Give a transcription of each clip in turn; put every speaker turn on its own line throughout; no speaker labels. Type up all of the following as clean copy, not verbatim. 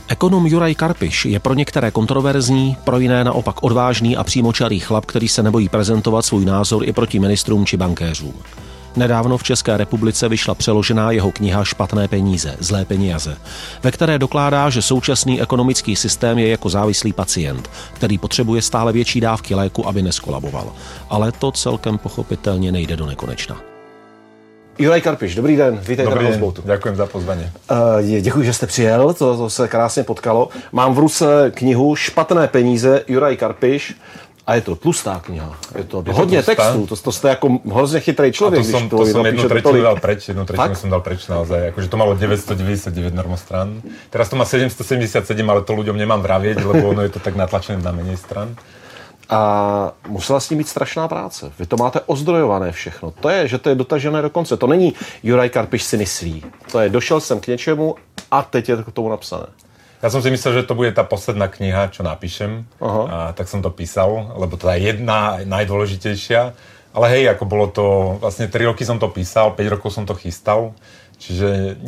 Ekonom Juraj Karpiš je pro některé kontroverzní, pro jiné naopak odvážný a přímočarý chlap, který se nebojí prezentovat svůj názor i proti ministrům či bankéřům. Nedávno v České republice vyšla přeložená jeho kniha Špatné peníze, zlé peníze, ve které dokládá, že současný ekonomický systém je jako závislý pacient, který potřebuje stále větší dávky léku, aby neskolaboval. Ale to celkem pochopitelně nejde do nekonečna. Juraj Karpiš, dobrý den, vítejte na Houseboatu.
Ďakujem za pozvanie.
Děkuji, že jste přijel, to se krásně potkalo. Mám v ruce knihu Špatné peníze, Juraj Karpiš. A je to tlustá kniha, je to hodně textů, to jste jako hrozně chytrý člověk.
A to som jednu tretinu dal preč, som dal preč naozaj, akože to malo 999 normostrán. Teraz to má 777, ale to ľuďom nemám vravieť, lebo ono je to tak natlačené na menej stran.
A musela s ním být strašná práce. Vy to máte ozdrojované všechno. To je, že to je dotažené do konce. To není Juraj Karpiš si myslí. To je, došel jsem k něčemu a teď je to k tomu napsané.
Ja som si myslel, že to bude tá posledná kniha, čo napíšem. A tak som to písal, lebo to je jedna najdôležitejšia. Ale hej, ako bolo to, vlastne 3 roky som to písal, 5 rokov som to chystal. Čiže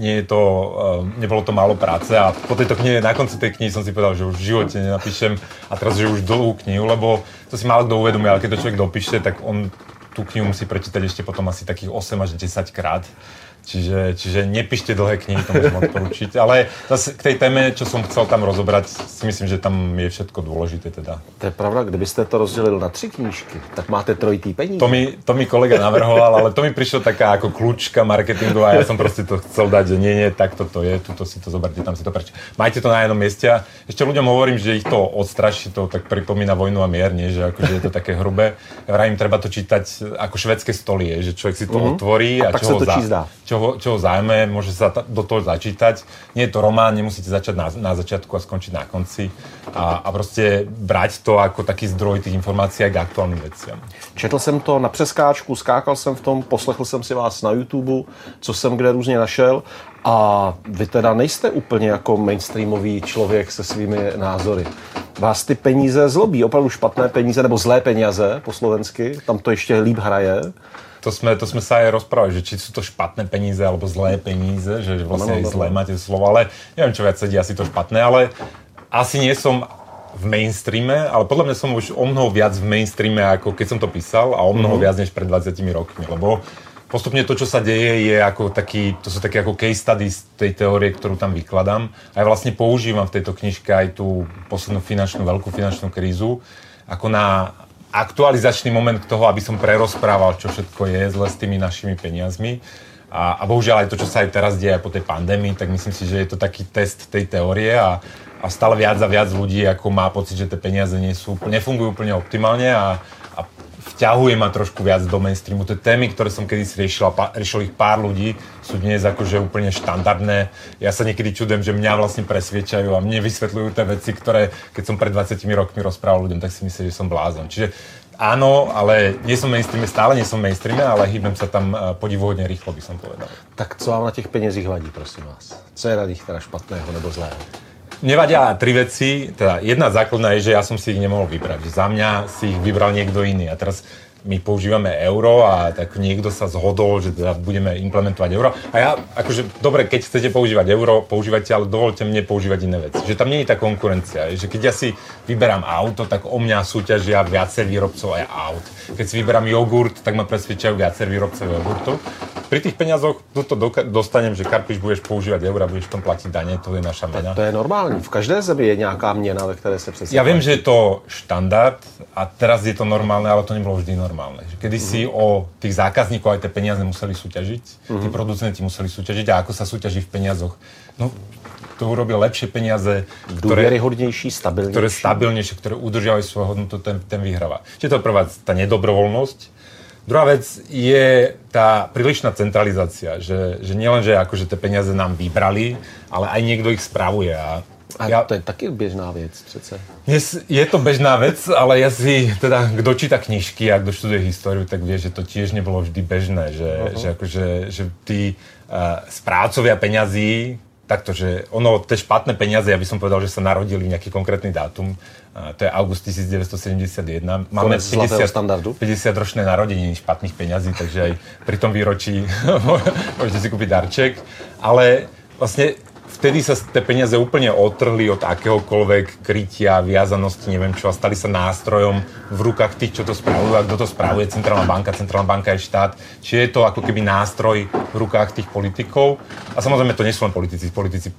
nebolo to málo práce a po tejto knihe, na konci tej knihy som si povedal, že už v živote nenapíšem a teraz, že už dlhú knihu, lebo to si málo kto uvedomí, ale keď to človek dopíše, tak on tú knihu musí prečítať ešte potom asi takých 8 až 10 krát. Čiže nepíšte dlhé knihy, to môžem odporučiť. Ale zase k tej téme, čo som chcel tam rozobrať, si myslím, že tam je všetko dôležité teda.
To je pravda, kdybyste to rozdělil na 3 knížky, tak máte trojitý peníze.
To mi kolega navrhoval, ale to mi prišlo taká ako kľúčka marketingová a ja som proste to chcel dať, že nie, takto to je, tuto si to zoberte, tam si to prečo. Majte to na jednom mieste a ešte ľuďom hovorím, že ich to odstraší, to tak pripomína Vojnu a mier, nie? Že akože je to také hrubé. Ja vravím, treba to čítať ako švédske stoly, že človek si to otvorí a čo ho zájme, môže sa do toho začítať. Nie je to román, nemusíte začať na začiatku a skončiť na konci. A proste brať to ako taký zdroj tých informácií k aktuálnym veciam.
Četl jsem to na přeskáčku, skákal jsem v tom, poslechl jsem si vás na YouTube, co jsem kde různě našel. A vy teda nejste úplně jako mainstreamový člověk se svými názory. Vás ty peníze zlobí, opravdu špatné peníze nebo zlé peníze po slovensky, tam to ještě líp hraje.
To sme sa aj rozprávali, že či sú to špatné peníze alebo zlé peníze, že vlastne zlé máte slovo, ale neviem, čo viac sedí, asi to špatné, ale asi nie som v mainstreame, ale podľa mňa som už o mnoho viac v mainstreame, ako keď som to písal a o mnoho viac než pred 20 rokmi, lebo postupne to, čo sa deje, je ako to sú také ako case studies tej teórie, ktorú tam vykladám. A ja vlastne používam v tejto knižke aj tú poslednú veľkú finančnú krízu ako na aktualizačný moment toho, aby som prerozprával, čo všetko je zle s tými našimi peniazmi. A bohužiaľ aj to, čo sa aj teraz deje po tej pandémii, tak myslím si, že je to taký test tej teórie a stále viac a viac ľudí ako má pocit, že tie peniaze nefungujú úplne optimálne a vťahuje ma trošku viac do mainstreamu. Tie témy, ktoré som kedysi riešil ich pár ľudí, sú dnes akože úplne štandardné. Ja sa niekedy čudujem, že mňa vlastne presviečajú a mne vysvetľujú tie veci, ktoré keď som pred 20 rokmi rozprával ľuďom, tak si myslím, že som blázon. Čiže áno, ale nie som mainstreame, stále nie som mainstreame, ale hýbem sa tam podivuhodne rýchlo, by som povedal.
Tak co vám na těch penězích vadí, prosím vás? Co je na nich teda špatného nebo zlého?
Mne vadia 3 veci, teda jedna základná je, že ja som si ich nemohol vybrať, že za mňa si ich vybral niekto iný a teraz my používame euro a tak niekto sa zhodol, že teda budeme implementovať euro. A ja, akože, dobre, keď chcete používať euro, používajte, ale dovolte mne používať iné veci. Že tam nie je tá konkurencia. Že keď ja si vyberám auto, tak o mňa súťažia viacej výrobcov aj aut. Keď si vyberám jogurt, tak ma presvedčajú viacej výrobcov jogurtu. Pri tých peniazoch to dostanem, že Karpiš, budeš používať euro, budeš v tom platiť dane, to je naša mena.
To je normální. V každé zemi je nějaká měna, ve které se přesně.
Ja viem, že je to štandard a teraz je to normálne, ale to nebolo vždy normálne. Kedy si o tých zákazníkov aj tie peniaze museli súťažiť, tí producenti museli súťažiť a ako sa súťaží v peniazoch. No, to urobia lepšie peniaze,
ktoré
stabilnejšie, ktoré udržiavajú svoju hodnotu, ten vyhráva. Čiže to je prvá tá nedobrovoľnosť. Druhá vec je tá prílišná centralizácia, že nielen, že akože tie peniaze nám vybrali, ale aj niekto ich spravuje.
A to je taky běžná věc přece.
Je to bežná vec, ale ja si, teda, kto číta knižky a kto študuje históriu, tak vie, že to tiež nebolo vždy bežné, že tí správcovia peňazí, takto, že tie špatné peniaze, ja by som povedal, že sa narodili v nejaký konkrétny dátum, to je august 1971. Máme 50-ročné narodeniny špatných peňazí, takže aj pri tom výročí môžete si kúpiť darček, ale vlastne v vtedy sa tie peniaze úplne otrhli od akéhokoľvek krytia, viazanosti, neviem čo, a stali sa nástrojom v rukách tých, čo to spravujú, a kto to spravuje, centrálna banka je štát. Čiže je to ako keby nástroj v rukách tých politikov. A samozrejme to nie sú len politici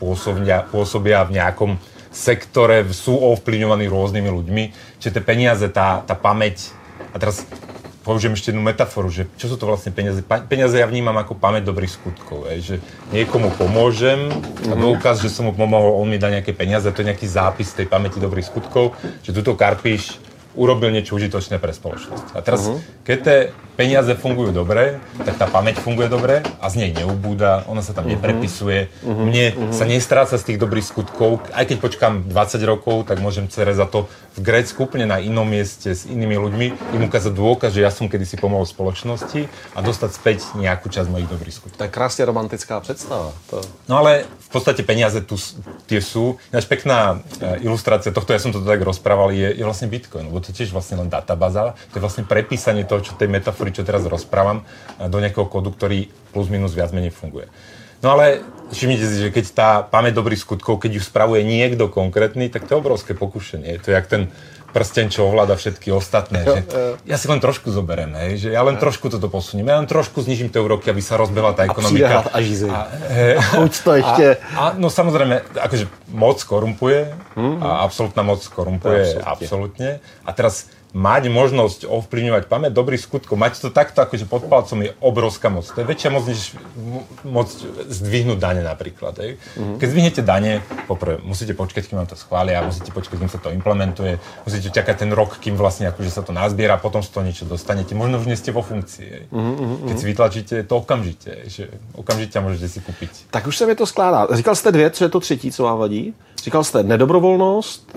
pôsobia v nejakom sektore, sú ovplyvňovaní rôznymi ľuďmi. Čiže tie peniaze, tá pamäť, a teraz použijem ešte jednu metaforu, že čo sú to vlastne peniaze? Peniaze ja vnímam ako pamäť dobrých skutkov, že niekomu pomôžem a dôkaz, že som mu pomohol, on mi dá nejaké peniaze, to je nejaký zápis tej pamäti dobrých skutkov, že tuto Karpiš urobil niečo užitočné pre spoločnosť. A teraz, keď tie peniaze fungujú dobre, tak tá pamäť funguje dobre a z nej neubúda, ona sa tam neprepisuje. Mne sa nestráca z tých dobrých skutkov. Aj keď počkám 20 rokov, tak môžem cere za to v Grécku úplne na inom mieste s inými ľuďmi im ukázať dôkaz, že ja som kedysi pomohol spoločnosti a dostať späť nejakú časť mojich dobrých skutkov.
To je krásne romantická predstava.
No ale v podstate peniaze tu tie sú. Ináč pekná ilustrácia tohto, ja som to tak rozprával, je vlastne Bitcoin. To je tiež vlastne len databáza, to je vlastne prepísanie toho, čo tej metafory, čo teraz rozprávam, do nejakého kódu, ktorý plus minus viac menej funguje. No ale všimnite si, že keď tá pamäť dobrých skutkov, keď ju spravuje niekto konkrétny, tak to je obrovské pokušenie. To je jak ten prsteň, čo ovláda všetky ostatné. Že ja si len trošku zoberiem, že ja len trošku toto posuniem, ja len trošku znižím tie úroky, aby sa rozbehla tá ekonomika.
A Žizy. Uč to ešte.
No samozrejme, akože moc korumpuje, a absolútna moc korumpuje, absolútne. A teraz mať možnosť ovplyvňovať pamäť dobrých skutkov, mať to takto akože pod palcom je obrovská moc. To je väčšia moc, než môcť zdvihnúť dane napríklad. Keď zdvihnete dane, poprvé musíte počkať, kým vám to schvália, musíte počkať, kým sa to implementuje, musíte čakať ten rok, kým vlastne akože sa to nazbiera, potom z toho niečo dostanete. Možno už nie ste vo funkcii. Keď si vytlačíte to okamžite, že okamžite môžete si kúpiť.
Tak už se mi to skládá. Říkal jste dvě, co je to třetí, co vám vadí? Říkal jste nedobrovolnost,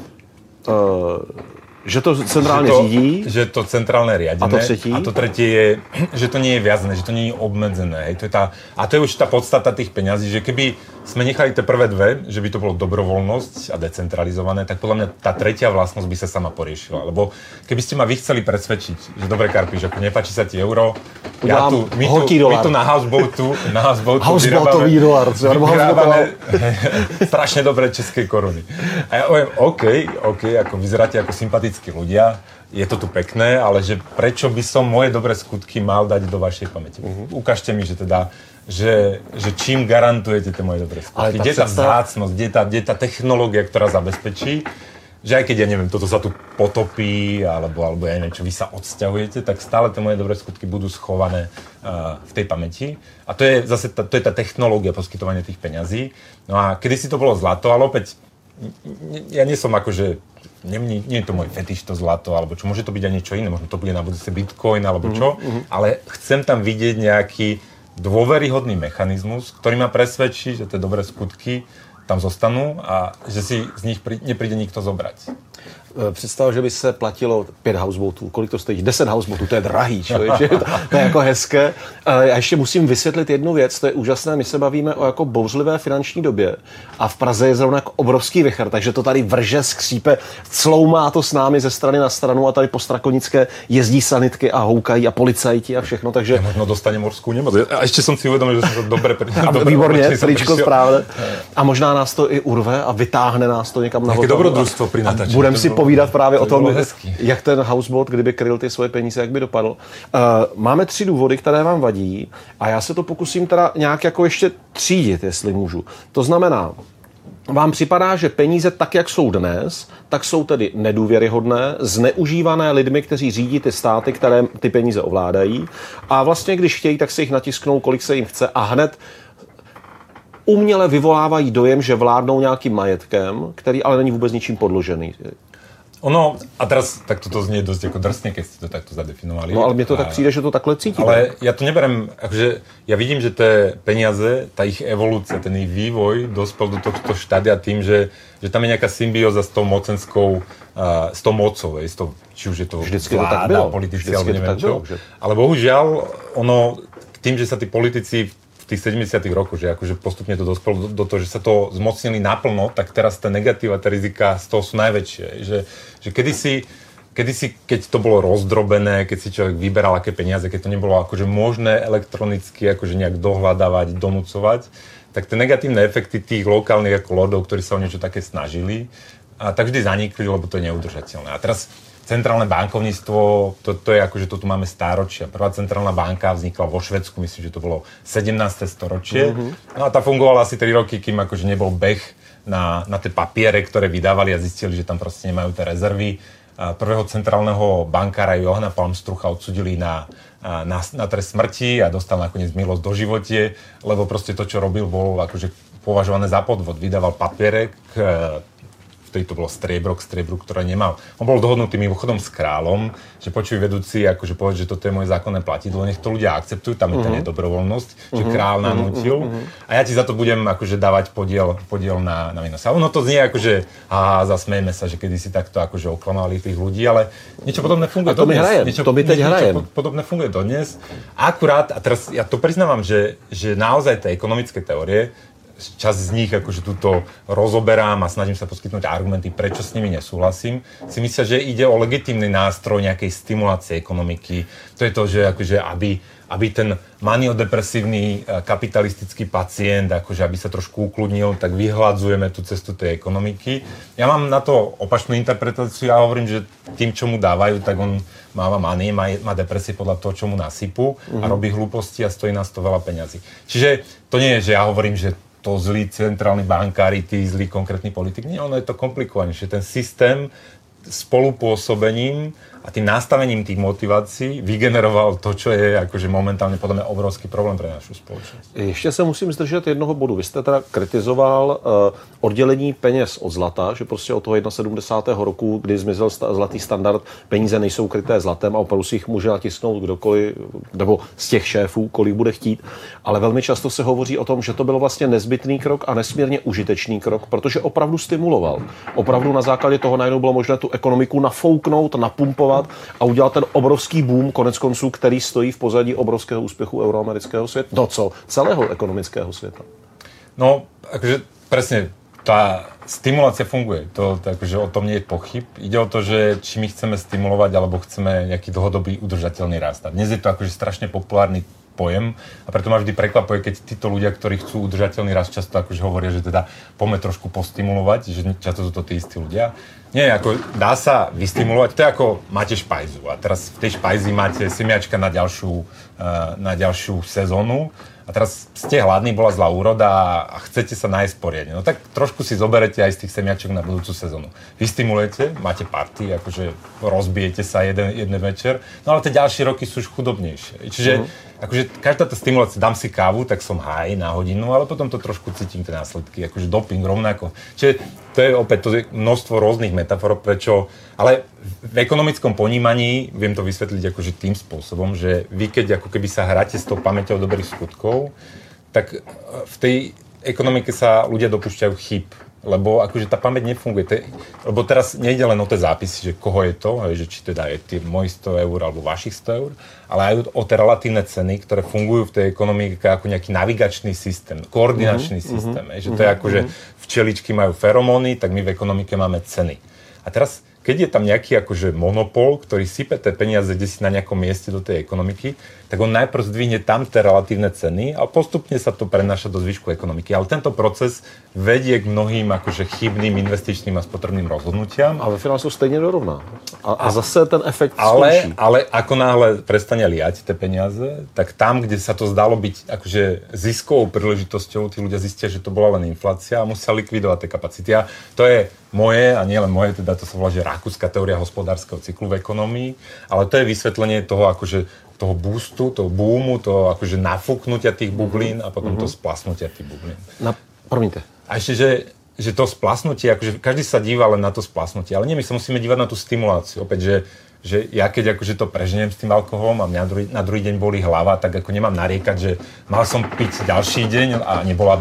že to centrálne řídí.
Že to centrálne riadené.
A to třetí?
A to tretie je, že to nie je viazané, že to nie je obmedzené. A to je už tá podstata tých peňazí, že keby sme nechali tie prvé dve, že by to bolo dobrovoľnosť a decentralizované, tak podľa mňa tá tretia vlastnosť by sa sama poriešila. Lebo keby ste ma vy chceli presvedčiť, že dobre Karpiš, ako nepáči sa ti euro, my tu na houseboatu vyrábame strašne dobré české koruny. A ja poviem, OK, ako vyzeráte ako sympatickí ľudia, je to tu pekné, ale že prečo by som moje dobré skutky mal dať do vašej pamäti? Ukážte mi, že teda že čím garantujete tie moje dobré skutky? Kde je tá vzácnosť, kde je tá technológia, ktorá zabezpečí, že aj keď, ja neviem, toto sa tu potopí, alebo ja neviem, čo vy sa odsťahujete, tak stále tie moje dobré skutky budú schované v tej pamäti. A to je zase to je tá technológia poskytovania tých peňazí. No a kedysi to bolo zlato, ale opäť ja nie som akože nie je to môj fetiš, to zlato, alebo čo, môže to byť aj niečo iné, možno to bude na budúce Bitcoin, alebo čo, ale chcem tam vidieť nejaký dôveryhodný mechanizmus, ktorý ma presvedčí, že tie dobré skutky tam zostanú a že si z nich nepríde nikto zobrať.
Představ, že by se platilo 5 houseboatů. Kolik to stojí? 10 houseboatů, to je drahý, člověče. To je jako hezké. Já ještě musím vysvětlit jednu věc, to je úžasné. My se bavíme o jako bouřlivé finanční době a v Praze je zrovna jako obrovský vichar, takže to tady vrže, skřípe, cloumá to s námi ze strany na stranu a tady po Strakonické jezdí sanitky a houkají a policajti a všechno, takže...
Ja možno dostane morskou nemoc. A ešte som si uvedomil, že som to dobre
výborně, tričko správne. A možná nás to i urve a vytáhne nás to někam na
vodu. Také dobrodružstvo pri natáčení.
Budem si povídat právě o tom, jak ten houseboat, kdyby kryl ty svoje peníze, jak by dopadl. Máme 3 důvody, které vám vadí a já se to pokusím teda nějak jako ještě třídit, jestli můžu. To znamená, vám připadá, že peníze tak, jak jsou dnes, tak jsou tedy nedůvěryhodné, zneužívané lidmi, kteří řídí ty státy, které ty peníze ovládají a vlastně, když chtějí, tak si jich natisknou, kolik se jim chce a hned uměle vyvolávají dojem, že vládnou nějakým majetkem, který ale není vůbec ničím podložený.
Ono, a teraz tak toto znie dosť ako drsne, keď ste to takto zadefinovali.
No ale mne to tak príde, že to takhle cítime.
Ale ja to neberem, akože ja vidím, že tie peniaze, tá ich evolúcia, ten ich vývoj dospel do tohto štádia tým, že tam je nejaká symbióza s tou mocenskou, s tou mocou, či už je to
vždycky
vláda, politici, alebo neviem čo. Ale bohužiaľ, ono, tým, že sa tí politici v tých 70. rokoch, že akože postupne to dospelo do toho, že sa to zmocnili naplno, tak teraz tá negatíva, tá rizika z toho sú najväčšie. Že kedysi, keď to bolo rozdrobené, keď si človek vyberal aké peniaze, keď to nebolo akože možné elektronicky akože nejak dohľadávať, donúcovať, tak tie negatívne efekty tých lokálnych ako lordov, ktorí sa o niečo také snažili, tak vždy zanikli, lebo to je neudržateľné. A teraz centrálne bankovníctvo, to je ako, že to tu máme stáročia. Prvá centrálna banka vznikla vo Švédsku, myslím, že to bolo 17. storočie. No a tá fungovala asi 3 roky, kým akože nebol beh na tie papiere, ktoré vydávali a zistili, že tam proste nemajú tie rezervy. Prvého centrálneho bankára Johana Palmstrucha odsudili na trest smrti a dostal nakoniec milosť do živote, lebo proste to, čo robil, bol akože považované za podvod. Vydával papiere, vtedy to bolo striebro k striebru, ktoré nemal. On bol dohodnutý mimochodom s kráľom, že počuj vedúci, akože povedať, že toto je moje zákonné platidlo, nech to ľudia akceptujú, tam je tá nedobrovoľnosť, že kráľ nanútil a ja ti za to budem akože dávať podiel na výnos. A ono to znie akože, zasmejeme sa, že kedysi takto akože oklamali tých ľudí, ale niečo podobné funguje
dodnes. To my teď hrajem.
Podobné funguje dodnes. Akurát, a teraz ja to priznávam, že naozaj tie ekonomické teórie, časť z nich akože túto rozoberám a snažím sa poskytnúť argumenty, prečo s nimi nesúhlasím, si myslia, že ide o legitímny nástroj nejakej stimulácie ekonomiky. To je to, že akože aby ten maniodepresívny kapitalistický pacient, akože aby sa trošku ukludnil, tak vyhľadzujeme tú cestu tej ekonomiky. Ja mám na to opačnú interpretáciu, ja hovorím, že tým, čo mu dávajú, tak on má depresie podľa toho, čo mu nasypú a robí hlúposti a stojí nás to veľa peňazí. Čiže to nie je, že ja hovorím, že to zlí centrálni bankári, tí zlí konkrétny politik. Nie, ono je to komplikovanejšie. Ten systém spolupôsobením a tým nastavením tých motivací vygeneroval to, čo je akože momentálne podľa mňa obrovský problém pre našu spoločnosť.
Ještě se musím zdržet jednoho bodu. Vy jste teda kritizoval oddělení peněz od zlata, že prostě od toho 71. roku, kdy zmizel zlatý standard, peníze nejsou kryté zlatem a opravdu si jich může natisknout kdokoliv, nebo z těch šéfů, kolik bude chtít. Ale velmi často se hovoří o tom, že to byl vlastně nezbytný krok a nesmírně užitečný krok, protože opravdu stimuloval. Opravdu na základě toho najednou bylo možné tu ekonomiku nafouknout, napumpovat a udělat ten obrovský boom, konec konců, který stojí v pozadí obrovského úspěchu euroamerického světa. No co? Celého ekonomického světa.
No, akože presne, tá stimulácia funguje. To akože o tom nie je pochyb. Ide o to, že či my chceme stimulovať, alebo chceme nejaký dlhodobý udržateľný rast. A dnes je to akože strašne populárny pojem a preto ma vždy prekvapuje, keď títo ľudia, ktorí chcú udržateľný rast, často akože hovoria, že teda poďme trošku postimulovať, že často sú to tí istí ľudia. Nie, ako dá sa vystimulovať, to je ako máte špajzu a teraz v tej špajzi máte semiačka na ďalšiu sezónu a teraz ste hladní, bola zlá úroda a chcete sa nájsť poriadne. No tak trošku si zoberete aj z tých semiačok na budúcu sezónu. Vystimulujete, máte party, akože rozbijete sa jeden večer, no ale tie ďalšie roky sú už chudobnejšie. Čiže akože každá tá stimulácia, dám si kávu, tak som high na hodinu, ale potom to trošku cítim tie následky, akože doping rovnako. Čiže to je opäť to je množstvo rôznych metafor, prečo, ale v ekonomickom ponímaní viem to vysvetliť akože tým spôsobom, že vy keď ako keby sa hráte s tou pamäťou dobrých skutkov, tak v tej ekonomike sa ľudia dopúšťajú chyb, lebo akože tá pamäť nefunguje. Lebo teraz nejde len o tie zápisy, že koho je to, že či teda je tým môj 100 eur alebo vašich 100 eur, ale aj o tie relatívne ceny, ktoré fungujú v tej ekonomike ako nejaký navigačný systém, koordinačný systém. Že to je ako, že včeličky majú feromóny, tak my v ekonomike máme ceny. A teraz keď je tam nejaký akože monopol, ktorý sype tie peniaze desi na nejakom mieste do tej ekonomiky, tak on najprv zdvihne tam tie relatívne ceny a postupne sa to prenáša do zvyšku ekonomiky. Ale tento proces vedie k mnohým akože chybným investičným a spotrebným rozhodnutiam.
A ve finále sa stejne dorovná. A zase ten efekt skončí.
Ale ako náhle prestane liať tie peniaze, tak tam, kde sa to zdalo byť akože ziskovou príležitosťou, tí ľudia zistia, že to bola len inflácia a musia likvidovať tie kapacity. A to je moje, a nie len moje, teda to sa volá, že rakúska teória hospodárskeho cyklu v ekonomii, ale to je vysvetlenie toho akože toho boostu, toho boomu, toho akože nafúknutia tých bublín a potom to splasnutia tých bublín.
Promiňte.
A ešte, že to splasnutie, akože každý sa díva len na to splasnutie, ale nie, my sa musíme dívať na tú stimuláciu. Opäť, že ja keď akože to preženiem s tým alkoholom a mňa na druhý deň bolí hlava, tak ako nemám nariekať, že mal som piť ďalší deň a nebola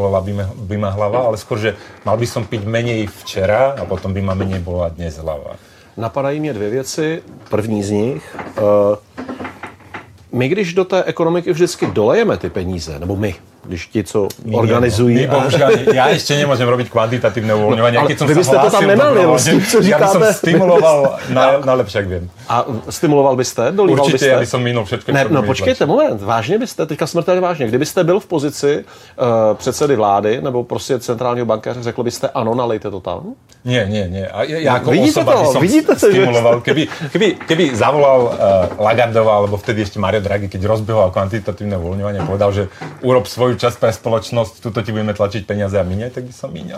by ma hlava, ale skôr, že mal by som piť menej včera a potom by ma menej bola dnes hlava.
Napadají mě dvě věci. První z nich, my když do té ekonomiky vždycky dolejeme ty peníze, nebo my,
když ti, co organizují.
Ja ešte nemôžem robiť kvantitatívne uvoľňovanie.
Ale vy byste to tam nemali, co říkáte?
Ja by som stimuloval najlepšie, jak viem.
A stimuloval byste? Dolíval
Určite,
byste?
ja by som minul všetko, čo
No počkejte, moment, vážně byste, teďka smrtelně vážně, kdybyste byl v pozici předsedy vlády nebo prostě centrálního bankéře, řekl byste ano, nalejte to tam?
Nie. A ja ako
Vidíte
osoba by som stimuloval. Keby zavolal Lagardová, alebo vtedy ešte Mario Draghi, keď rozbehol kvantitatívne uvoľňovanie, povedal, že urob svoju časť pre spoločnosť, tuto ti budeme tlačiť peniaze a míňaj, tak by som míňal.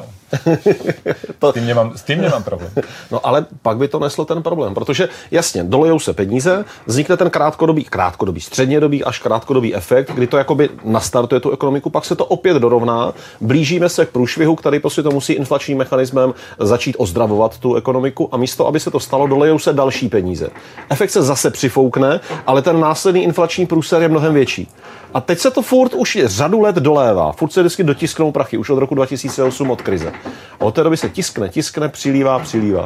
S tým nemám problém.
No ale pak by to neslo ten problém, protože jasně, dolejou se peníze, vznikne ten krátkodobý, střednědobý až krátkodobý efekt, kdy to jakoby nastartuje tu ekonomiku, pak se to opět dorovná, blížíme se k průšvihu, který prostě to musí inflačním mechanismem začít ozdravovat tu ekonomiku a místo, aby se to stalo, dolejou se další peníze. Efekt se zase přifoukne, ale ten následný inflační průser je mnohem větší. A teď se to furt už řadu let dolévá. Furt se vždycky dotisknou prachy, už od roku 2008 od krize. A od té doby se tiskne, přilívá.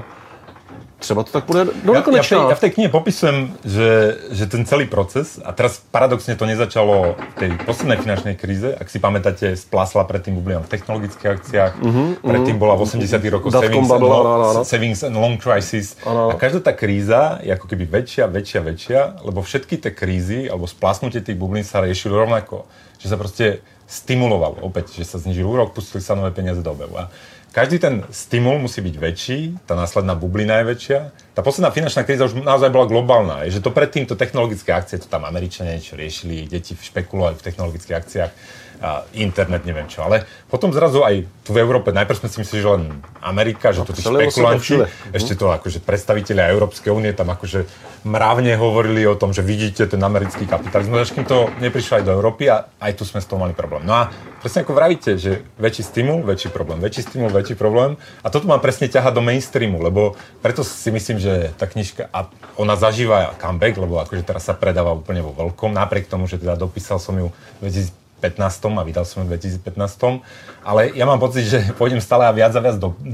Třeba to tak bude do nekonečna.
Ja v tej knihe popisujem, že ten celý proces, a teraz paradoxne to nezačalo v tej poslednej finančnej kríze, ak si pamätáte, splásla predtým bublina v technologických akciách, predtým bola v 80. rokoch savings and long crisis. A každá tá kríza je ako keby väčšia, lebo všetky tie krízy, alebo splásnutie tých bublín sa riešili rovnako. Že sa proste stimulovalo opäť, že sa znižil úrok, pustili sa nové peniaze do obehu. Každý ten stimul musí byť väčší, tá následná bublina je väčšia. Tá posledná finančná kríza už naozaj bola globálna. Je, že to predtým to technologické akcie, to tam Američania niečo riešili, deti špekulovali v technologických akciách, internet, neviem čo. Ale potom zrazu aj tu v Európe, najprv sme si mysleli, že len Amerika, že to tí špekulanti, ešte to akože predstavitelia Európskej únie tam akože mravne hovorili o tom, že vidíte ten americký kapitalizmus, až kým to neprišlo aj do Európy a aj tu sme s toho mali problém. No a presne ako vravíte, že väčší stimul, väčší problém. A toto má presne ťahať do mainstreamu, lebo preto si myslím, že tá knižka, a ona zažíva comeback, lebo akože teraz sa predáva úplne vo veľkom, napriek tomu, že teda dopísal som ju v 2015 a vydal som ju v 2015. Ale ja mám pocit, že pôjdem stále a viac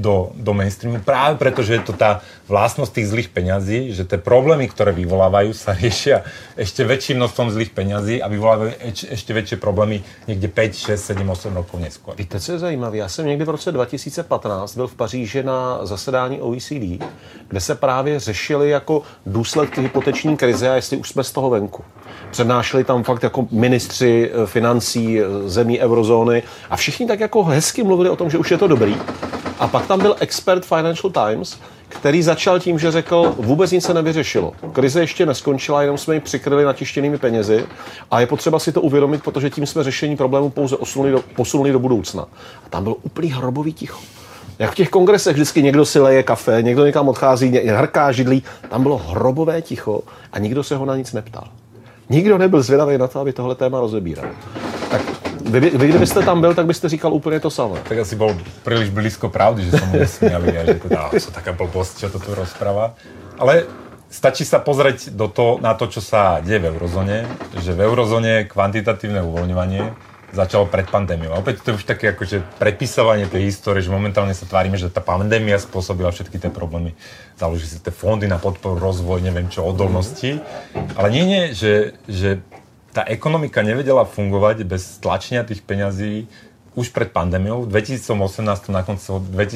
do mainstreamu, práve preto, že je to tá vlastnosť tých zlých peňazí, že tie problémy, ktoré vyvolávajú, sa riešia ešte väčším množstvom zlých peňazí a vyvolávajú ešte väčšie problémy někde 5, 6, 7, 8 rokov neskôr.
Víte, co je zajímavé? Já jsem někdy v roce 2015 byl v Paříži na zasedání OECD, kde se právě řešili jako důsledky hypoteční krize a jestli už jsme z toho venku. Přednášeli tam fakt jako ministři financí zemí eurozóny a všichni tak jako hezky mluvili o tom, že už je to dobrý. A pak tam byl expert Financial Times, který začal tím, že řekl, vůbec nic se nevyřešilo. Krize ještě neskončila, jenom jsme ji přikryli natištěnými penězi a je potřeba si to uvědomit, protože tím jsme řešení problému pouze posunuli do budoucna. A tam bylo úplný hrobový ticho. Jak v těch kongresech vždycky někdo si leje kafe, někdo někam odchází, hrká židlí, tam bylo hrobové ticho a nikdo se ho na nic neptal. Nikdo nebyl zvědavý na to, aby tohle téma rozebíral. Tak vy, kdybyste tam byl, tak byste říkal úplně to samé.
Tak asi bol príliš blízko pravdy, že som mu nesmiali a že teda sú taká blbosť, čo to tu rozpráva. Ale stačí sa pozrieť na to, čo sa deje v eurozóne, že v eurozóne kvantitatívne uvoľňovanie začalo pred pandémiou. A opäť to je už také akože prepisovanie tej histórie, že momentálne sa tvárime, že tá pandémia spôsobila všetky tie problémy. Založili si tie fondy na podporu, rozvoj, neviem čo, odolnosti. Ale nie, že tá ekonomika nevedela fungovať bez tlačenia tých peňazí už pred pandémiou. V 2018, na konci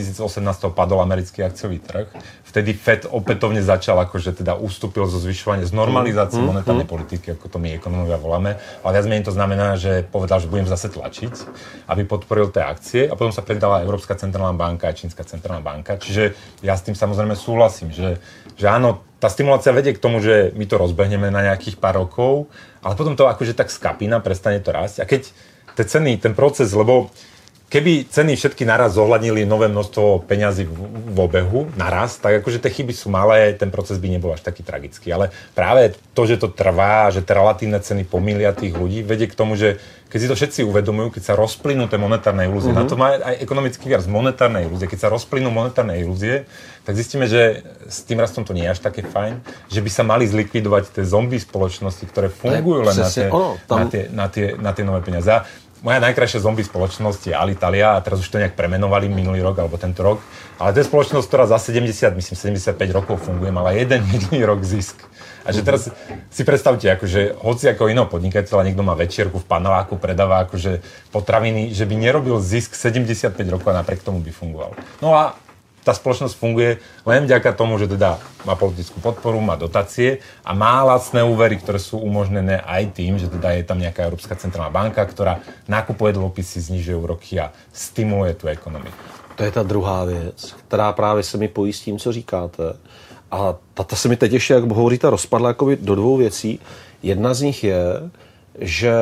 2018 padol americký akciový trh. Vtedy Fed opätovne začal, akože teda ustúpil zo zvyšovania, z normalizácie monetárnej politiky, ako to my ekonomovia voláme. Ale viac menej to znamená, že povedal, že budem zase tlačiť, aby podporil tie akcie. A potom sa predala Európska centrálna banka a Čínska centrálna banka. Čiže ja s tým samozrejme súhlasím, že áno, tá stimulácia vedie k tomu, že my to rozbehneme na nejakých pár rokov, ale potom to akože tak skapína, prestane to rásť. A keď tie ceny, ten proces, lebo keby ceny všetky naraz zohľadnili nové množstvo peňazí v obehu naraz, tak akože tie chyby sú malé, ten proces by nebol až taký tragický. Ale práve to, že to trvá, že tie relatívne ceny pomýlia tých ľudí, vedie k tomu, že keď si to všetci uvedomujú, keď sa rozplynú tie monetárne ilúzie, na to má aj ekonomický výraz monetárne ilúzie, keď sa rozplynú monetárne ilúzie, tak zistíme, že s tým rastom to nie je až také fajn, že by sa mali zlikvidovať tie zombie spoločnosti, ktoré fungujú len na tie nové peniaze. moja najkrajšia zombie spoločnosť je Alitalia a teraz už to nejak premenovali minulý rok alebo tento rok. Ale to je spoločnosť, ktorá za 75 rokov funguje, mala jeden jediný rok zisk. A že teraz si predstavte, akože hoci ako iného podnikateľa, niekto má večierku v paneláku, predáva akože potraviny, že by nerobil zisk 75 rokov a napriek tomu by fungoval. No a tá spoločnosť funguje len vďaka tomu, že teda má politickú podporu, má dotácie a má lacné úvery, ktoré sú umožnené aj tým, že teda je tam nejaká Európska centrálna banka, ktorá nakupuje dlhopisy, znižuje úroky a stimuluje tu ekonomiku.
To je ta druhá věc, která právě se mi pojí s tím, co říkáte. A ta se mi teď ještě, jak hovoříte, rozpadla jakoby do dvou věcí. Jedna z nich je, že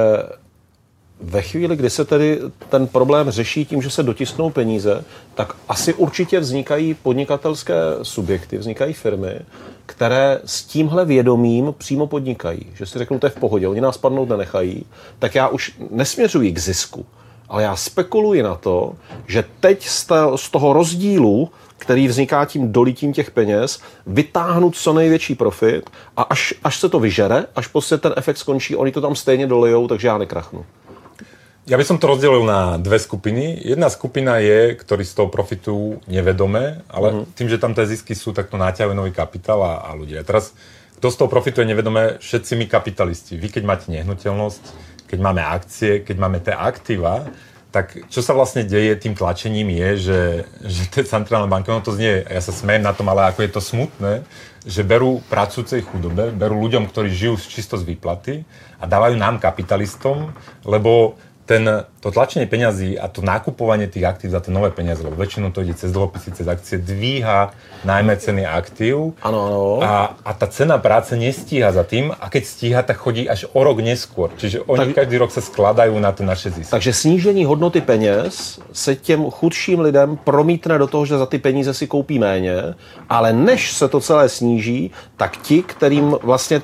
ve chvíli, kdy se tedy ten problém řeší tím, že se dotisknou peníze, tak asi určitě vznikají podnikatelské subjekty, vznikají firmy, které s tímhle vědomím přímo podnikají. Že si řeknou, to je v pohodě, oni nás padnout nenechají, tak já už nesměřuji k zisku, ale já spekuluji na to, že teď z toho rozdílu, který vzniká tím dolitím těch peněz, vytáhnout co největší profit a až se to vyžere, až prostě ten efekt skončí, oni to tam stejně dolijou, takže já nekrachnu.
Ja by som to rozdelil na dve skupiny. Jedna skupina je, ktorí z toho profitujú nevedome, ale tým, že tam tie zisky sú, tak to náťahujú nový kapitál a ľudia. Teraz, kto z toho profituje nevedome? Všetci my kapitalisti. Vy, keď máte nehnuteľnosť, keď máme akcie, keď máme tie aktíva, tak čo sa vlastne deje tým tlačením je, že tie centrálne banky, no to znie, ja sa smejem na tom, ale ako je to smutné, že berú pracujúcej chudobe, berú ľuďom, ktorí žijú čisto z výplaty a dávajú nám kapitalistom, lebo to tlačenie peňazí a to nakupovanie tých aktív za tie nové peniaze, lebo väčšinou to ide cez dlhopisy, cez akcie, dvíha najmä ceny aktív.
Ano.
A tá cena práce nestíha za tým a keď stíha, tak chodí až o rok neskôr. Čiže oni každý rok sa skladajú na to naše zisky.
Takže snížení hodnoty peněz se těm chudším lidem promítne do toho, že za ty peníze si koupí méně, ale než se to celé sníží, tak ti, kterým vlastně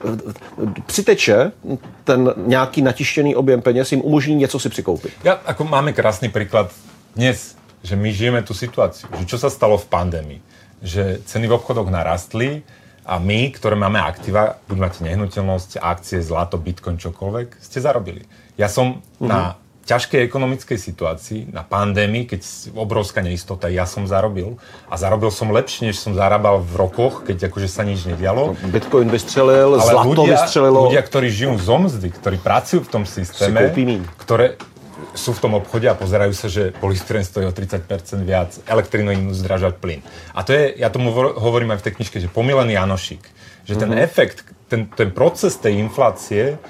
přiteče ten nějaký natištěný objem peněz, jim umožní něco si přikoupit.
Ako máme krásny príklad dnes, že my žijeme tú situáciu, že čo sa stalo v pandémii, že ceny v obchodoch narastli a my, ktoré máme aktíva, buď máte nehnuteľnosť, akcie, zlato, bitcoin, čokoľvek, ste zarobili. Ja som na ťažkej ekonomickej situácii, na pandémii, keď obrovská neistota, ja som zarobil a zarobil som lepšie, než som zarábal v rokoch, keď akože sa nič nedialo.
Bitcoin vystřelil, zlato vystřelilo.
Ľudia, ktorí žijú zo mzdy, ktorí pracujú v tom systéme, ktoré sú v tom obchode a pozerajú sa, že polystyren stojí o 30% viac, elektrínu im zdražať plyn. A to je, ja tomu hovorím aj v tej knižke, že pomylený Janošík. Že ten efekt, ten proces tej inflácie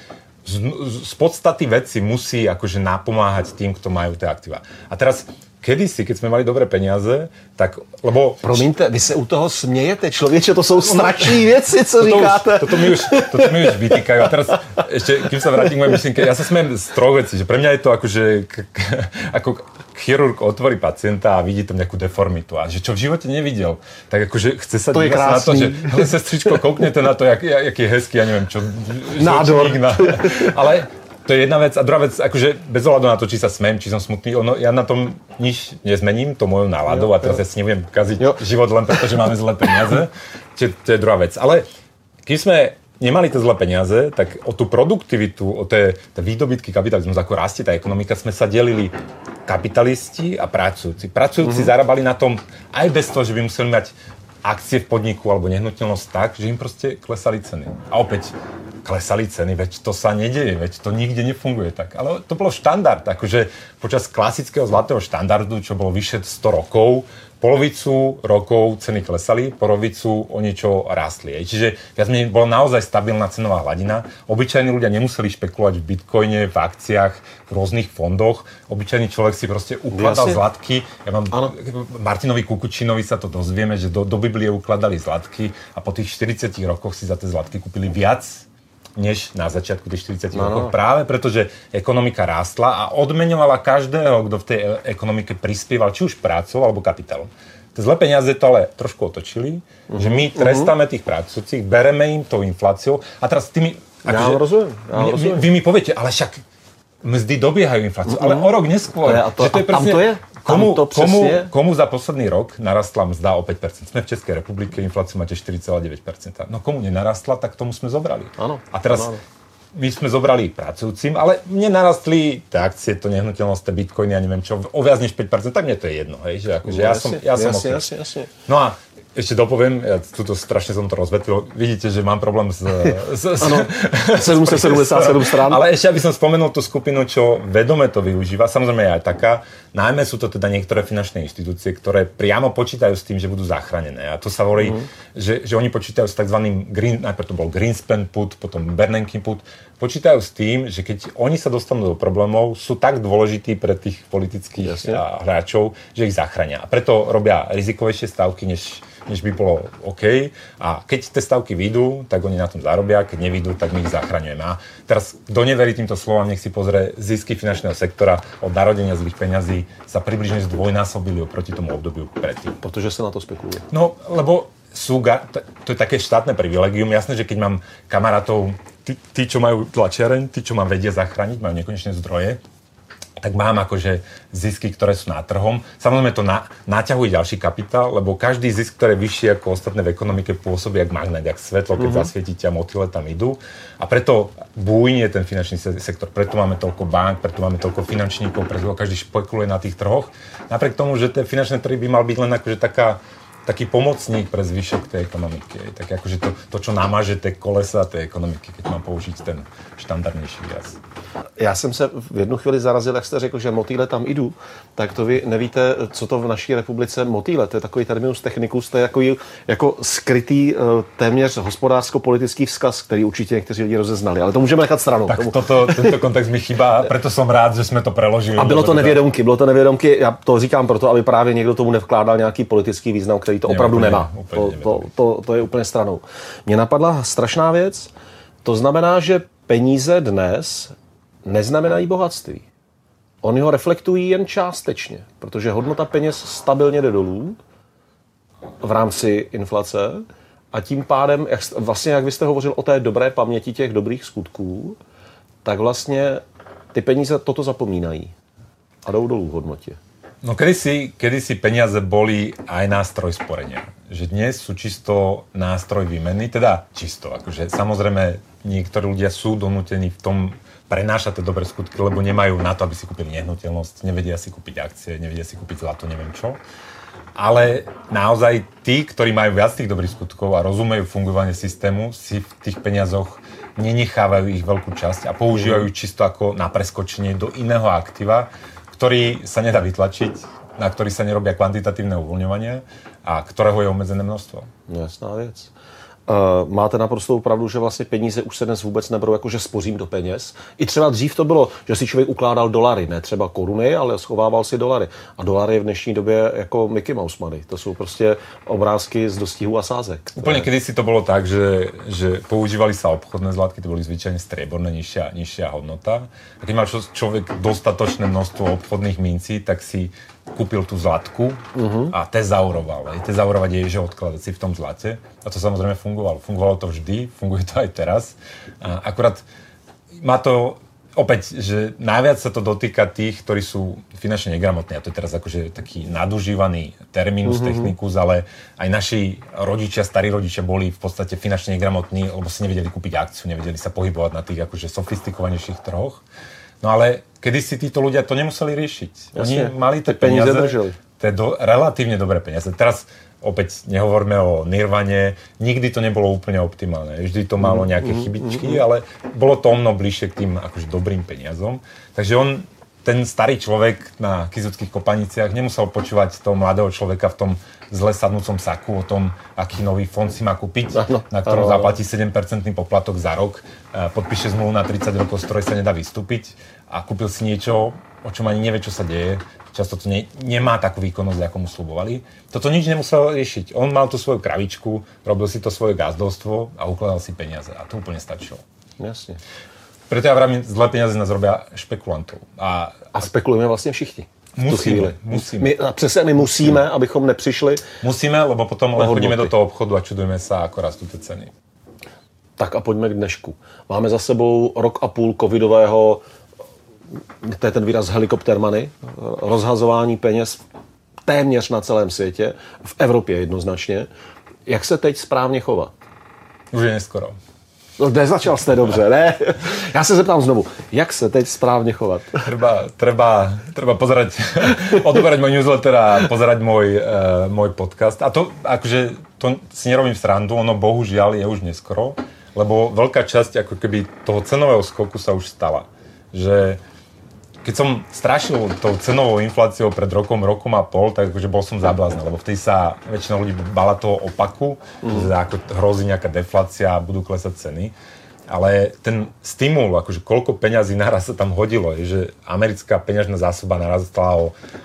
z podstaty veci musí akože napomáhať tým, kto majú tie aktíva. A teraz kedysi, keď sme mali dobré peniaze, tak, lebo...
Promiňte, vy se u toho smějete, člověče, to jsou strašné věci, co říkáte.
Toto mi už vytýkajú. A teraz ešte, kým sa vrátim k mojej myšlienke, ja sa smejem z troch vecí, že pre mňa je to akože ako chirurg otvorí pacienta a vidí tam nejakú deformitu. A že čo v živote nevidel, tak akože chce sa dívať na to, že sestričko, kouknete na to, jaký je hezký, ja neviem čo.
Nádor.
Ale to je jedna vec. A druhá vec, akože bez ohľadu na to, či sa smejem, či som smutný, ja na tom nič nezmením, to mojou náladou a teraz ja si nebudem kaziť život len preto, že máme zlé peniaze. To je druhá vec. Ale keď sme nemali tie zlé peniaze, tak o tú produktivitu, o tie výdobytky kapitalizmu, ako rastie tá ekonomika, sme sa delili kapitalisti a pracujúci. Pracujúci zarábali na tom aj bez toho, že by museli mať akcie v podniku alebo nehnuteľnosť tak, že im proste klesali ceny. A opäť klesali ceny, veď to sa nedeje, veď to nikde nefunguje tak. Ale to bolo štandard, akože počas klasického zlatého štandardu, čo bolo vyše 100 rokov, polovicu rokov ceny klesali, polovicu o niečo rástli. Čiže viac menej bola naozaj stabilná cenová hladina. Obyčajní ľudia nemuseli špekulovať v bitcoine, v akciách, v rôznych fondoch. Obyčajný človek si proste ukladal zlatky. Martinovi Kukučinovi sa to dozvieme, že do Biblie ukladali zlatky a po tých 40 rokoch si za tie zlatky kúpili viac než na začiatku tých 40 rokov. Práve preto, že ekonomika rástla a odmeňovala každého, kto v tej ekonomike prispieval, či už prácou alebo kapitálom. Tie zlé peniaze to ale trošku otočili, že my trestáme tých pracujúcich, bereme im tou infláciou a teraz tými...
Ja rozumiem.
Vy mi poviete, ale však mzdy dobiehajú infláciu, ale o rok neskôr.
Že to je presne... to je?
Komu za posledný rok narastla mzda o 5%? Sme v Českej republike, infláciu máte 4,9%. No komu nenarastla, tak tomu sme zobrali.
Áno.
A teraz my sme zobrali pracujúcim, ale mne narastli tie akcie, to nehnuteľnosť, tie bitcoiny, ja neviem čo, o viac než 5%, tak mne to je jedno, hej, že akože ja som
jasne.
No a ešte dopoviem, ja tuto strašne som to rozvetlil, vidíte, že mám problém
Áno, 777 strán.
Ale ešte, aby som spomenul tú skupinu, čo vedome to využíva, samozrejme je aj taká, najmä sú to teda niektoré finančné inštitúcie, ktoré priamo počítajú s tým, že budú zachránené. A to sa hovorí, že oni počítajú s takzvaným najprv to bol Greenspan put, potom Bernanke put, počítajú s tým, že keď oni sa dostanú do problémov, sú tak dôležití pre tých politických hráčov, že ich zachránia. A preto robia rizikovejšie stavky, než by bolo OK. A keď tie stavky vyjdú, tak oni na tom zarobia, keď nevyjdú, tak my ich zachraňujeme. A teraz, kto neverí týmto slovám, nech si pozrie zisky finančného sektora od narodenia zlých peňazí sa približne zdvojnásobili oproti tomu obdobiu predtým.
Protože sa na to spekuluje.
No, lebo to je také štátne privilegium. Jasné, že keď mám kamarátov, tí, čo majú tlačiareň, tí, čo ma vedia zachrániť, majú nekonečné zdroje, tak mám akože zisky, ktoré sú na trhom. Samozrejme to naťahuje ďalší kapitál, lebo každý zisk, ktorý je vyšší ako ostatné v ekonomike, pôsobí jak magnet, jak svetlo, keď zasvietite a motýle tam idú. A preto bujnie ten finančný sektor, preto máme toľko bank, preto máme toľko finančníkov, preto každý špekuluje na tých trhoch. Napriek tomu, že tie finančné trhy by mal byť len akože taký pomocník pre zvyšok tej ekonomiky. Tak akože to, čo namáže tie kolesa tej ekonomiky, keď mám použiť ten štandardnější výraz.
Já jsem se v jednu chvíli zarazil, jak jste řekl, že motýle tam jdu, tak to vy nevíte, co to v naší republice motýle. To je takový terminus technicus, to je jako skrytý téměř hospodářsko-politický vzkaz, který určitě někteří lidi rozeznali, ale to můžeme nechat stranou.
Tak tento kontext mi chýba, preto som rád, že jsme to preložili.
A bylo to nevědomky, já to říkám proto, aby právě někdo tomu nevkládal nějaký politický význam, který to opravdu nemá. To je úplně stranou. Mně napadla strašná věc, to znamená, že peníze dnes neznamenají bohatství. Oni ho reflektují jen částečně, protože hodnota peněz stabilně jde dolů v rámci inflace a tím pádem, jak vy jste hovořil o té dobré paměti těch dobrých skutků, tak vlastně ty peníze toto zapomínají a jdou dolů v hodnotě.
No kedysi peniaze boli aj nástroj sporenia. Že dnes sú čisto nástroj výmeny, teda čisto. Akože samozrejme niektorí ľudia sú donútení v tom prenášať tie dobré skutky, lebo nemajú na to, aby si kúpili nehnuteľnosť, nevedia si kúpiť akcie, nevedia si kúpiť zlato, neviem čo. Ale naozaj tí, ktorí majú viac tých dobrých skutkov a rozumejú fungovanie systému, si v tých peniazoch nenechávajú ich veľkú časť a používajú čisto ako na preskočenie do iného aktíva, ktorý sa nedá vytlačiť, na ktorý sa nerobia kvantitatívne uvoľňovanie a ktorého je omezené množstvo.
Jasná věc. Máte naprostou pravdu, že vlastně peníze už se dnes vůbec neberou jako, že spořím do peněz. I třeba dřív to bylo, že si člověk ukládal dolary, ne třeba koruny, ale schovával si dolary. A dolary v dnešní době jako Mickey Mouse money. To jsou prostě obrázky z dostihů a sázek.
Úplne kedysi to bolo tak, že používali sa obchodné zlatky, to boli zvyčajne strieborné, nižšia hodnota. A keď mal človek dostatočné množstvo obchodných mincí, tak si kúpil tú zlatku a tezauroval. Tezaurovať je, že odkladať si v tom zlate. A to samozrejme fungovalo. Fungovalo to vždy, funguje to aj teraz. A akurát má to opäť, že najviac sa to dotýka tých, ktorí sú finančne negramotní. A to je teraz akože taký nadužívaný terminus technicus, ale aj naši rodičia, starí rodičia boli v podstate finančne negramotní, lebo si nevedeli kúpiť akciu, nevedeli sa pohybovať na tých akože sofistikovanejších trhoch. No ale kedysi títo ľudia to nemuseli riešiť. Oni mali tie peniaze, to je relatívne dobré peniaze. Teraz opäť nehovoríme o Nirvane, nikdy to nebolo úplne optimálne. Vždy to malo nejaké chybičky, ale bolo to omno bližšie k tým akože dobrým peniazom. Takže ten starý človek na Kysuckých Kopaniciach nemusel počúvať toho mladého človeka v tom zle sadnúcom saku o tom, aký nový fond si má kúpiť, na ktorom zaplatí 7% poplatok za rok, podpíše zmluvu na 30 rokov, z ktorej sa nedá vystúpiť a kúpil si niečo, o čom ani nevie, čo sa deje. Často to nemá takú výkonnosť, ako mu slubovali. Toto nič nemusel riešiť. On mal tú svoju kravičku, robil si to svoje gazdovstvo a ukladal si peniaze. A to úplne stačilo.
Jasne.
Preto ja vravím, zlé peniaze nás robia špekulantov.
A spekulujeme vlastně všichni.
Musíme.
My musíme, abychom nepřišli.
Musíme, lebo potom chodíme do toho obchodu a čudujeme sa, ako rastú tie ceny.
Tak a pojďme k dnešku. Máme za sebou rok a půl covidového, to je ten výraz helikopter money, rozhazování peněz téměř na celém světě, v Evropě jednoznačně. Jak se teď správně chovat?
Už je neskoro.
No, nezačal jste dobře, ne? Já se zeptám znovu, jak se teď správně chovat?
Treba pozerať, odoberať môj newsletter a pozerať môj podcast. A to, akože, to si nerobím srandu, ono bohužiaľ je už neskoro, lebo veľká časť ako keby toho cenového skoku sa už stala. Že keď som strašil tou cenovou infláciou pred rokom a pol, tak akože bol som zabláznen, lebo vtedy sa väčšina ľudí bála toho opaku, že ako hrozí nejaká deflácia a budú klesať ceny. Ale ten stimul, akože koľko peňazí naraz sa tam hodilo, je, že americká peňažná zásoba narastla o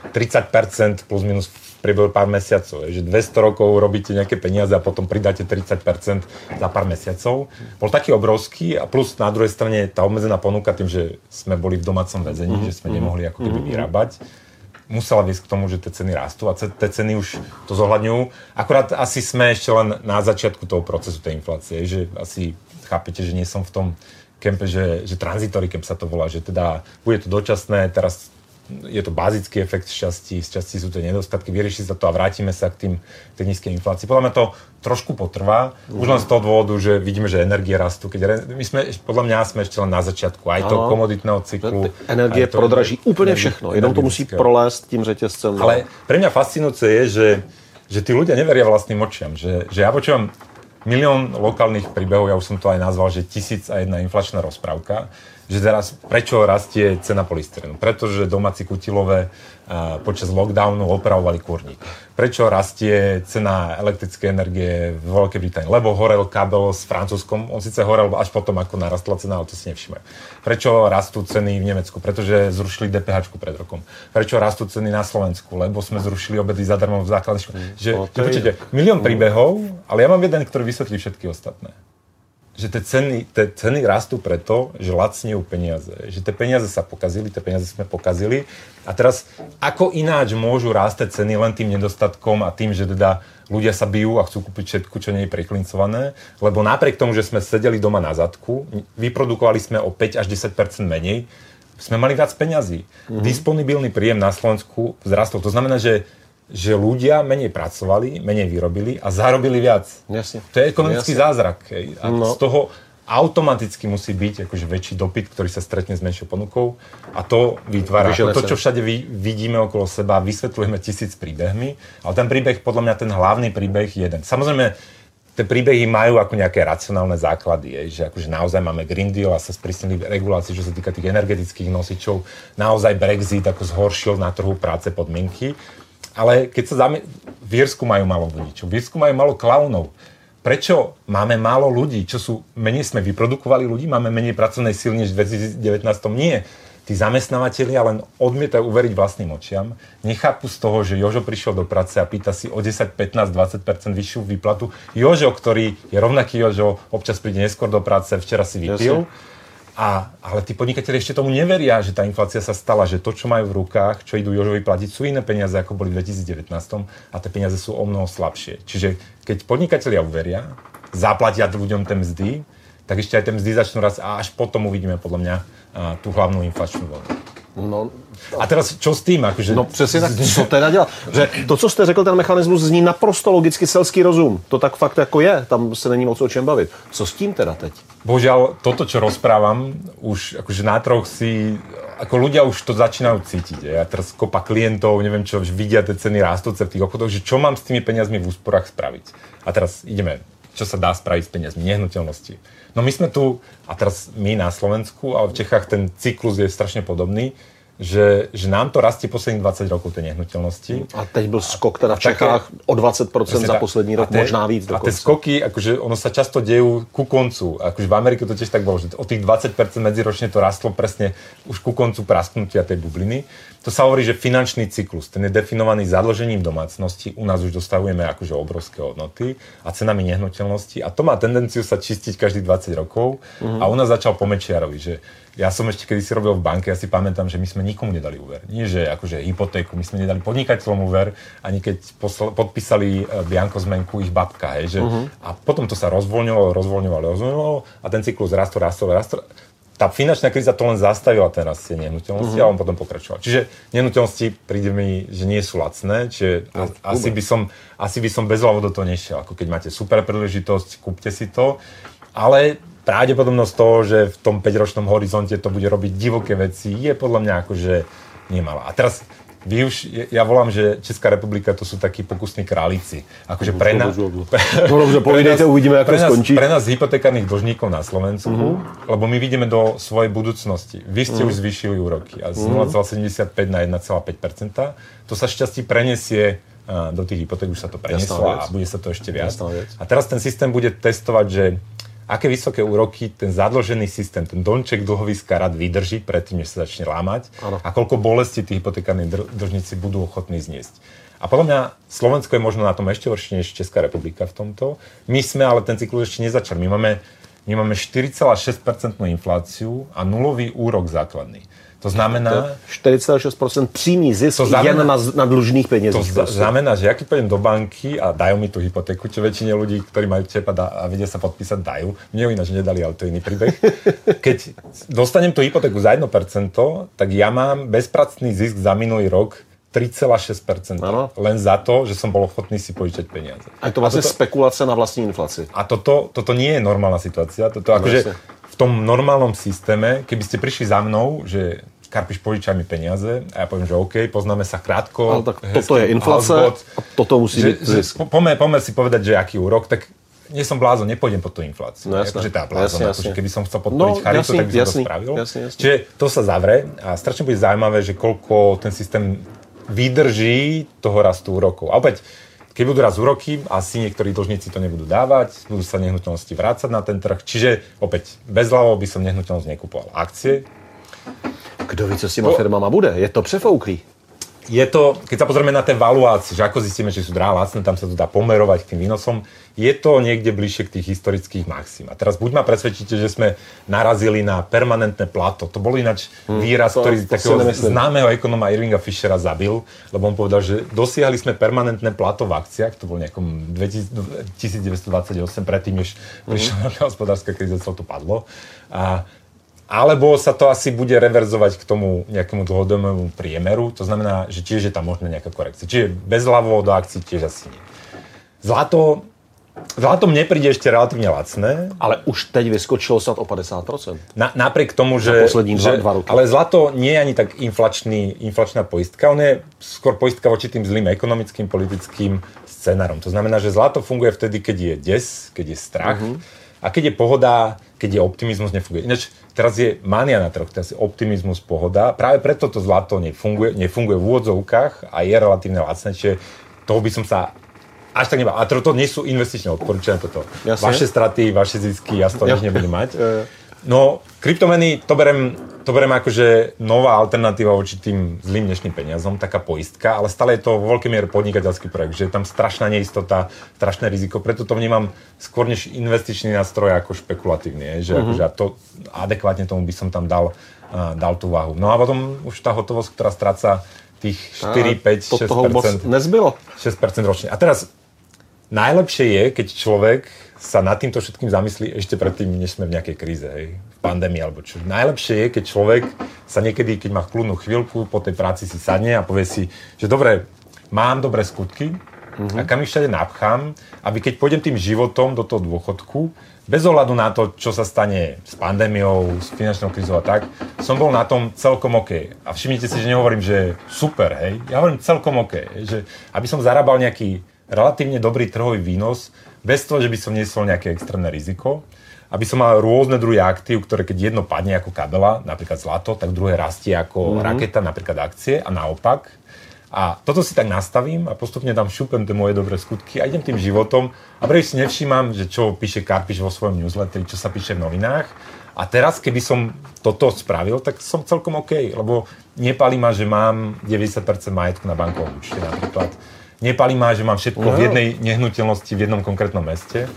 30% plus minus v priebehu pár mesiacov. Je, že 200 rokov robíte nejaké peniaze a potom pridáte 30% za pár mesiacov. Bol taký obrovský a plus na druhej strane tá obmedzená ponuka tým, že sme boli v domácom väzení, že sme nemohli ako keby vyrábať, musela viesť k tomu, že tie ceny rastú a tie ceny už to zohľadňujú. Akurát asi sme ešte len na začiatku toho procesu tej inflácie, že asi chápete, že nie som v tom kempe, že tranzitory kemp sa to volá, že teda bude to dočasné, teraz je to bazický efekt z časti sú to nedostatky, vyrieši sa to a vrátime sa k tej nízkej inflácii. Podľa mňa to trošku potrvá, už len z toho dôvodu, že vidíme, že energie rastú. Podľa mňa sme ešte len na začiatku aj toho komoditného cyklu.
Energie prodraží úplně všechno, jenom to musí prolést tím řetězcem.
Ale pre mňa fascinujúce je, že tí ľudia neveria vlastným očiam, že ja počúvam milión lokálnych príbehov, ja už som to aj nazval, že 1001 inflačná rozprávka, že teraz prečo rastie cena polystyrenu? Pretože domáci kutilové počas lockdownu opravovali kurník. Prečo rastie cena elektrickej energie v Veľkej Británii? Lebo horel kábel s Francúzskom, on síce horel až potom, ako narastla cena, ale to si nevšimajú. Prečo rastú ceny v Nemecku? Pretože zrušili DPH pred rokom. Prečo rastú ceny na Slovensku? Lebo sme zrušili obedy zadarmo v základnej škole. Počujete, milión príbehov, ale ja mám jeden, ktorý vysvetlí všetky ostatné. Že tie ceny rastú preto, že lacnejú peniaze. Že tie peniaze sa pokazili, tie peniaze sme pokazili. A teraz, ako ináč môžu rásť ceny len tým nedostatkom a tým, že teda ľudia sa bijú a chcú kúpiť všetko, čo nie je priklincované, lebo napriek tomu, že sme sedeli doma na zadku, vyprodukovali sme o 5 až 10% menej, sme mali viac peňazí. Disponibilný príjem na Slovensku vzrastol. To znamená, že ľudia menej pracovali, menej vyrobili a zarobili viac.
Jasne.
To je ekonomický zázrak. A z toho automaticky musí byť akože väčší dopyt, ktorý sa stretne s menšou ponukou a to vytvára to, čo všade vidíme okolo seba, vysvetľujeme 1000 príbehmi, ale ten príbeh, podľa mňa ten hlavný príbeh je jeden. Samozrejme, tie príbehy majú ako nejaké racionálne základy, že akože naozaj máme Green Deal a sa sprísnili regulácie, čo sa týka tých energetických nosičov, naozaj Brexit ako zhoršil na trhu práce podmienky. Ale keď sa v Írsku majú málo vodičov, v Írsku majú málo klaunov. Prečo máme málo ľudí? Menej sme vyprodukovali ľudí? Máme menej pracovnej síly než v 2019? Nie. Tí zamestnávateľia len odmietajú uveriť vlastným očiam. Nechápu z toho, že Jožo prišiel do práce a pýta si o 10, 15, 20% vyššiu výplatu. Jožo, ktorý je rovnaký Jožo, občas príde neskôr do práce, včera si vypil. Ale tí podnikatelia ešte tomu neveria, že tá inflácia sa stala, že to, čo majú v rukách, čo idú Jožovi platiť, sú iné peniaze, ako boli v 2019 a tie peniaze sú omnoho slabšie. Čiže keď podnikatelia uveria, zaplatia ľuďom tie mzdy, tak ešte aj tie mzdy začnú rast a až potom uvidíme podľa mňa tú hlavnú inflačnú vlnu.
No,
a teraz čo s tím? Akože...
No přesně tak, co teda dělat? Že to, co jste řekl, ten mechanismus zní naprosto logicky selský rozum. To tak fakt jako je, tam se není moc o čem bavit. Co s tím teda teď?
Bohužiaľ, toto, čo rozprávam, už akože na troch si, ako ľudia už to začínajú cítiť. Ja teraz kopa klientov, neviem čo, vidia tie ceny rastúce v tých obchodoch, že čo mám s tými peniazmi v úsporách spraviť. A teraz ideme, čo sa dá spraviť s peniazmi, nehnuteľnosti. No my sme tu, a teraz my na Slovensku, ale v Čechách ten cyklus je strašne podobný, že nám to rastie posledných 20 rokov tej nehnuteľnosti.
A teď byl skok teda v Čechách o 20% za poslední rok, možná víc dokonce.
A tie skoky, akože ono sa často dejú ku koncu. Akože v Amerike to tiež tak bolo, že o tých 20% medziročne to rastlo presne už ku koncu prasknutia tej bubliny. To sa hovorí, že finančný cyklus, ten je definovaný zadlžením domácnosti. U nás už dostávame akože obrovské hodnoty a cenami nehnuteľnosti. A to má tendenciu sa čistiť každých 20 rokov. A u nás začal po Mečiarovi, že ja som ešte kedysi robil v banke, ja si pamätám, že my sme nikomu nedali úver. Nie, že akože hypotéku, my sme nedali podnikateľom úver, ani keď podpísali bianko zmenku ich babka, hej, že a potom to sa rozvoľňovalo a ten cyklus rastol. Tá finančná kríza to len zastavila teraz tie nehnuteľnosti a on potom pokračoval. Čiže nehnuteľnosti príde mi, že nie sú lacné, čiže asi by som bezhlavo do toho nešiel. Ako keď máte super príležitosť, kúpte si to, ale pravdepodobnosť toho, že v tom 5-ročnom horizonte to bude robiť divoké veci, je podľa mňa akože nemalá. A teraz ja volám, že Česká republika to sú takí pokusní králíci. Akože pre nás...
Dobře, povídejte, uvidíme, ako skončí.
Pre nás hypotekárnych dlžníkov na Slovensku, lebo my vidíme do svojej budúcnosti. Vy ste už zvýšili úroky a z 0,75 na 1,5%. To sa šťastí prenesie do tých hypoték, už sa to prenieslo a bude sa to ešte viac. A teraz ten systém bude testovať, že aké vysoké úroky ten zadlžený systém, ten domček dlhoviska rád vydrží predtým, než sa začne lámať a koľko bolesti tí hypotekárni dlžníci budú ochotní zniesť. A podľa mňa Slovensko je možno na tom ešte horšie než Česká republika v tomto. My sme ale ten cyklus ešte nezačali. My máme 4,6% infláciu a nulový úrok základný. To znamená...
46% přímý zisk jen na dlužných penězích.
To znamená, že ja keď pôjdem do banky a dajú mi tú hypotéku, čo väčšine ľudí, ktorí majú čep a vedia sa podpísať, dajú. Mne ju ináč nedali, ale to je iný príbeh. Keď dostanem tú hypotéku za 1%, tak ja mám bezpracný zisk za minulý rok 3,6%. Len za to, že som bol ochotný si požičať peniaze.
A to vlastne spekulace na vlastní inflaci.
A toto nie je normálna situácia. Toto akože v tom normálnom systéme, keby ste prišli za mnou, že Karpiš, požičaj mi peniaze a ja poviem, že OK, poznáme sa krátko.
Ale tak toto je inflace a toto musí byť zisk.
Poďme si povedať, že aký úrok, tak nie som blázon, nepôjdem pod tú infláciu.
No jasné.
Akože tá blázon, akože keby som chcel podporiť charitu, tak by som to spravil.
Jasne.
Čiže to sa zavre a strašne bude zaujímavé, že koľko ten systém vydrží toho rastu úrokov. A opäť, keď budú raz úroky, asi niektorí dlžníci to nebudú dávať, budú sa nehnuteľnosti vrácať na ten trh. Čiže opäť, bezhlavo by som nehnuteľnosť nekupoval. Akcie.
Kdo ví, co s těma firmama bude? Je to přefouklý.
Je to, keď sa pozrieme na tie valuácie, že ako zistíme, či sú drahé, lacné, tam sa to dá pomerovať k tým výnosom, je to niekde bližšie k tých historických maxim. A teraz buď ma presvedčíte, že sme narazili na permanentné plato. To bol ináč výraz, ktorý takého známeho ekonóma Irvinga Fischera zabil, lebo on povedal, že dosiahli sme permanentné plato v akciách, to bol nejakom 1928, predtým, než prišla hospodárska kríza, celé to padlo. Alebo sa to asi bude reverzovať k tomu nejakému dlhodobému priemeru, to znamená, že tiež je tam možná nejaká korekcia. Čiže bezhlavo do akcií tiež asi nie. Zlato mne príde ešte relatívne lacné.
Ale už teď vyskočilo snad o 50%.
Napriek tomu, že...
poslední dva roky.
Ale zlato nie je ani tak inflačná poistka, on je skôr poistka voči tým zlým ekonomickým, politickým scenárom. To znamená, že zlato funguje vtedy, keď je des, keď je strach. A keď je pohoda, keď je optimizmus, nefunguje. Ináč teraz je mania na trhu, teraz je optimizmus, pohoda. Práve preto to zlato nefunguje v úvodzovkách a je relatívne lacné, čiže toho by som sa až tak nebal. A to nie sú investičné odporúčania toto. Jasne. Vaše straty, vaše zisky, ja z toho nič nebudem mať. No, kryptomeny, to berem akože nová alternatíva voči tým zlým dnešným peniazom, taká poistka, ale stále je to vo veľkej miere podnikateľský projekt, že je tam strašná neistota, strašné riziko, preto to vnímam skôr než investičný nástroj ako špekulatívny, že akože to adekvátne tomu by som tam dal tú váhu. No a potom už tá hotovosť, ktorá stráca tých 4, 5, 6%.
Nezbylo.
6% ročne. A teraz najlepšie je, keď človek sa nad týmto všetkým zamyslí ešte predtým, než sme v nejakej kríze, hej, v pandémii alebo čo. Najlepšie je, keď človek sa niekedy, keď má kľudnú chvíľku, po tej práci si sadne a povie si, že dobre, mám dobré skutky a kam ich všade napchám, aby keď pôjdem tým životom do toho dôchodku, bez ohľadu na to, čo sa stane s pandémiou, s finančnou krízou a tak, som bol na tom celkom OK. A všimnite si, že nehovorím, že super, hej, ja hovorím celkom OK, že aby som zarábal nejaký relatívne dobrý trhový výnos, bez toho, že by som niesol nejaké extrémne riziko, aby som mal rôzne druhy aktív, ktoré keď jedno padne ako kabela, napríklad zlato, tak druhé rastie ako raketa, napríklad akcie a naopak. A toto si tak nastavím a postupne tam šupem tie moje dobré skutky a idem tým životom a prvé si nevšímam, že čo píše Karpiš vo svojom newsletteri, čo sa píše v novinách. A teraz, keby som toto spravil, tak som celkom OK, lebo nepálí ma, že mám 90% majetku na bankovom účte napríklad. Nepálí ma, že mám všetko v jednej nehnuteľnosti, v jednom konkrétnom meste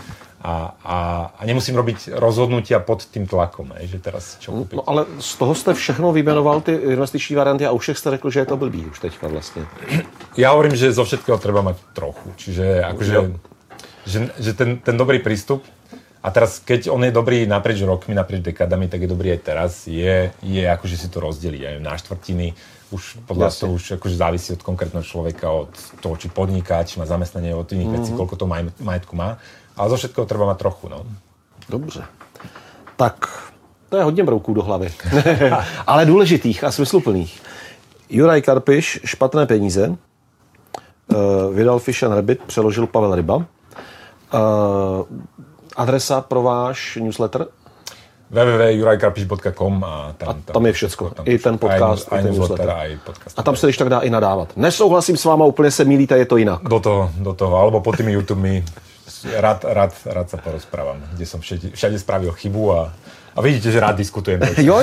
a nemusím robiť rozhodnutia pod tým tlakom, že teraz čo kúpiť.
No ale z toho jste všechno vyjmenoval ty investiční varianty a u všech jste řekl, že je to blbý už teďka vlastně.
Ja hovorím, že zo všetkého treba mať trochu. Čiže akože, že ten dobrý prístup a teraz, keď on je dobrý naprieč rokmi, naprieč dekádami, tak je dobrý aj teraz, je akože si to rozdeliť aj na štvrtiny. Už podľa toho už akože závisí od konkrétneho človeka, od toho, či podniká, či má zamestnanie, od iných vecí, koľko to majetku má. Ale zo všetkého treba mať trochu, no.
Dobře. Tak to je hodně brouků do hlavy. Ale důležitých a smysluplných. Juraj Karpiš, Špatné peníze. Vydal Fish and Rabbit, přeložil Pavel Ryba. Adresa pro váš newsletter?
www.jurajkarpiš.com
a tam je všecko. I ten podcast, i ten newsletter. A tam se když tak dá i nadávat. Nesouhlasím s váma, úplně se mýlíte, je to jinak.
Do toho, alebo pod tými YouTubemi rád sa porozprávam, kde som všade spravil chybu a vidíte, že rád diskutujem.
Jo.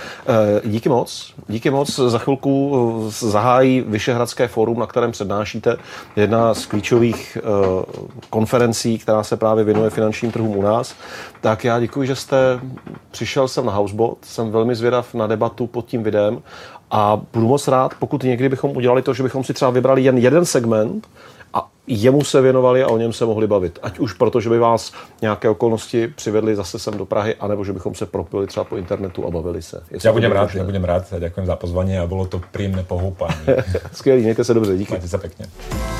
Díky moc. Za chvilku zahájí Vyšehradské fórum, na kterém přednášíte. Jedna z klíčových konferencí, která se právě věnuje finančním trhům u nás. Tak já děkuji, že jste přišel sem na Housebot. Jsem velmi zvědav na debatu pod tím videem a budu moc rád, pokud někdy bychom udělali to, že bychom si třeba vybrali jen jeden segment a jemu se věnovali a o něm se mohli bavit. Ať už proto, že by vás nějaké okolnosti přivedli zase sem do Prahy, anebo že bychom se propili třeba po internetu a bavili se.
Já budem rád. Ďakujem za pozvanie a bylo to príjemné pohoupání.
Skvělý, mějte se dobře, díky.
Majte sa pekne.